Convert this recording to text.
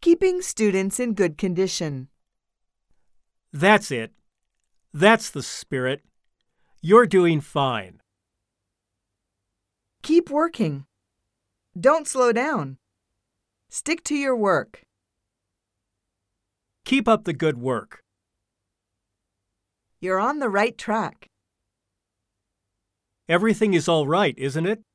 Keeping students in good condition. That's it. That's the spirit. You're doing fine. Keep working. Don't slow down. Stick to your work. Keep up the good work. You're on the right track. Everything is all right, isn't it?